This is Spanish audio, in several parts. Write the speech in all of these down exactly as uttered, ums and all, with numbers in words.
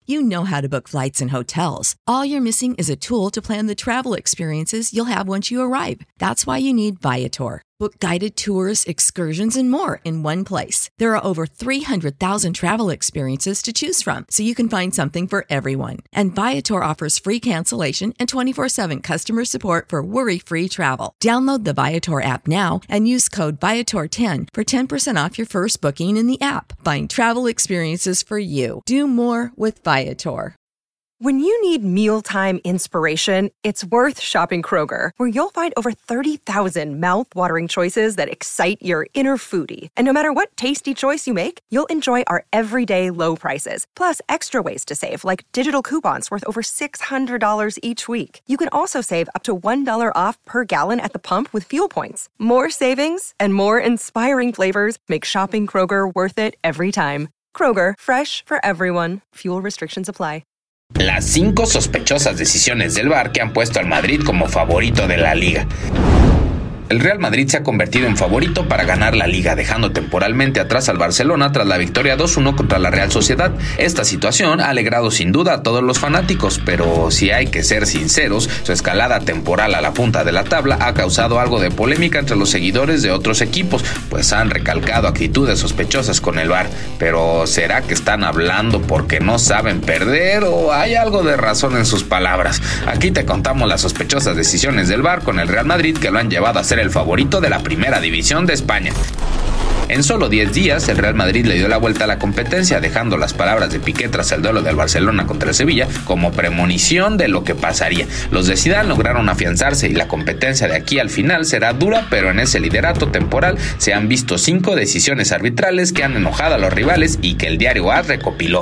you know how to book flights and hotels. All you're missing is a tool to plan the travel experiences you'll have once you arrive. That's why you need Viator. Book guided tours, excursions, and more in one place. There are over three hundred thousand travel experiences to choose from, so you can find something for everyone. And Viator offers free cancellation and twenty-four seven customer support for worry-free travel. Download the Viator app now and use code Viator ten for ten percent off your first booking in the app. Find travel experiences for you. Do more with Viator. When you need mealtime inspiration, it's worth shopping Kroger, where you'll find over thirty thousand mouth-watering choices that excite your inner foodie. And no matter what tasty choice you make, you'll enjoy our everyday low prices, plus extra ways to save, like digital coupons worth over six hundred dollars each week. You can also save up to one dollar off per gallon at the pump with fuel points. More savings and more inspiring flavors make shopping Kroger worth it every time. Kroger, fresh for everyone. Fuel restrictions apply. Las cinco sospechosas decisiones del V A R que han puesto al Madrid como favorito de la Liga. El Real Madrid se ha convertido en favorito para ganar la Liga, dejando temporalmente atrás al Barcelona tras la victoria dos uno contra la Real Sociedad. Esta situación ha alegrado sin duda a todos los fanáticos, pero si hay que ser sinceros, su escalada temporal a la punta de la tabla ha causado algo de polémica entre los seguidores de otros equipos, pues han recalcado actitudes sospechosas con el V A R. Pero ¿será que están hablando porque no saben perder o hay algo de razón en sus palabras? Aquí te contamos las sospechosas decisiones del V A R con el Real Madrid que lo han llevado a ser el favorito de la primera división de España. En solo diez días, el Real Madrid le dio la vuelta a la competencia, dejando las palabras de Piqué tras el duelo del Barcelona contra el Sevilla como premonición de lo que pasaría. Los de Zidane lograron afianzarse y la competencia de aquí al final será dura, pero en ese liderato temporal se han visto cinco decisiones arbitrales que han enojado a los rivales y que el diario A S recopiló.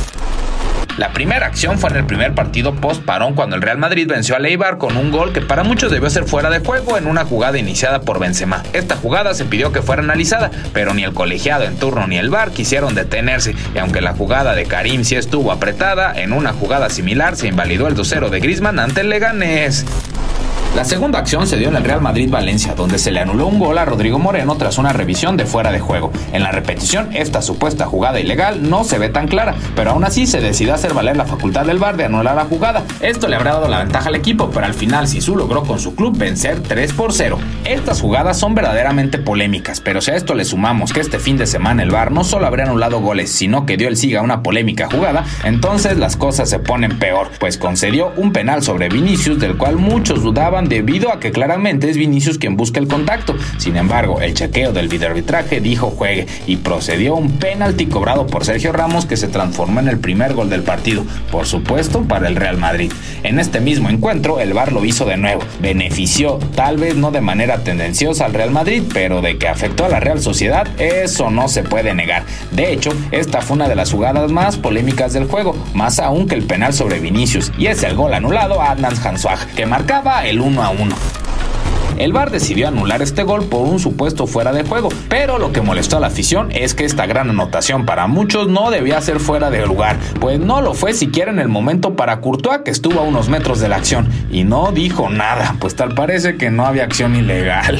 La primera acción fue en el primer partido post-parón cuando el Real Madrid venció al Eibar con un gol que para muchos debió ser fuera de juego en una jugada iniciada por Benzema. Esta jugada se pidió que fuera analizada, pero ni el colegiado en turno ni el V A R quisieron detenerse, y aunque la jugada de Karim sí estuvo apretada, en una jugada similar se invalidó el dos cero de Griezmann ante el Leganés. La segunda acción se dio en el Real Madrid-Valencia, donde se le anuló un gol a Rodrigo Moreno tras una revisión de fuera de juego. En la repetición, esta supuesta jugada ilegal no se ve tan clara, pero aún así se decidió hacer valer la facultad del V A R de anular la jugada. Esto le habrá dado la ventaja al equipo, pero al final Zizou logró con su club vencer tres por cero. Estas jugadas son verdaderamente polémicas, pero si a esto le sumamos que este fin de semana el V A R no solo habría anulado goles, sino que dio el siga a una polémica jugada, entonces las cosas se ponen peor, pues concedió un penal sobre Vinicius, del cual muchos dudaban debido a que claramente es Vinicius quien busca el contacto. Sin embargo, el chequeo del videoarbitraje dijo juegue y procedió un penalti cobrado por Sergio Ramos que se transformó en el primer gol del partido, por supuesto para el Real Madrid. En este mismo encuentro el V A R lo hizo de nuevo, benefició tal vez no de manera tendenciosa al Real Madrid, pero de que afectó a la Real Sociedad eso no se puede negar. De hecho, esta fue una de las jugadas más polémicas del juego, más aún que el penal sobre Vinicius, y es el gol anulado a Adnan Januzaj, que marcaba el uno a uno. El V A R decidió anular este gol por un supuesto fuera de juego, pero lo que molestó a la afición es que esta gran anotación para muchos no debía ser fuera de lugar, pues no lo fue siquiera en el momento para Courtois, que estuvo a unos metros de la acción y no dijo nada, pues tal parece que no había acción ilegal.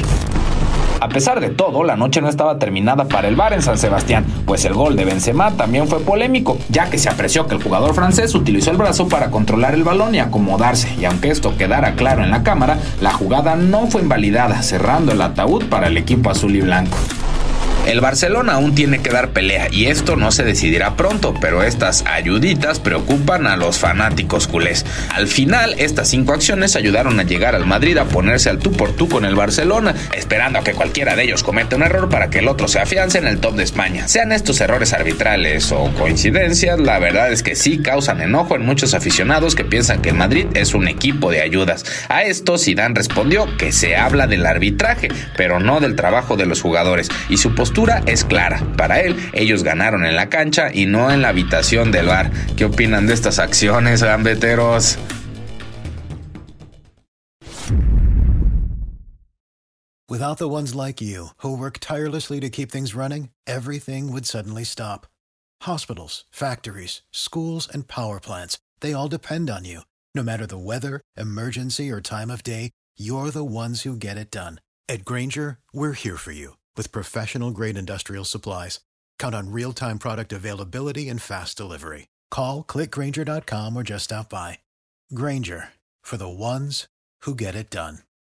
A pesar de todo, la noche no estaba terminada para el V A R en San Sebastián, pues el gol de Benzema también fue polémico, ya que se apreció que el jugador francés utilizó el brazo para controlar el balón y acomodarse, y aunque esto quedara claro en la cámara, la jugada no fue invalidada, cerrando el ataúd para el equipo azul y blanco. El Barcelona aún tiene que dar pelea y esto no se decidirá pronto, pero estas ayuditas preocupan a los fanáticos culés. Al final, estas cinco acciones ayudaron a llegar al Madrid a ponerse al tú por tú con el Barcelona, esperando a que cualquiera de ellos cometa un error para que el otro se afiance en el top de España. Sean estos errores arbitrales o coincidencias, la verdad es que sí causan enojo en muchos aficionados que piensan que el Madrid es un equipo de ayudas. A esto Zidane respondió que se habla del arbitraje, pero no del trabajo de los jugadores, y su postura es clara. Para él, ellos ganaron en la cancha y no en la habitación del V A R. ¿Qué opinan de estas acciones, gambeteros? Without the ones like you, who work tirelessly to keep things running, everything would suddenly stop. Hospitals, factories, schools, and power plants, they all depend on you. No matter the weather, emergency, or time of day, you're the ones who get it done. At Grainger, we're here for you with professional-grade industrial supplies. Count on real-time product availability and fast delivery. Call, click Grainger dot com, or just stop by. Grainger, for the ones who get it done.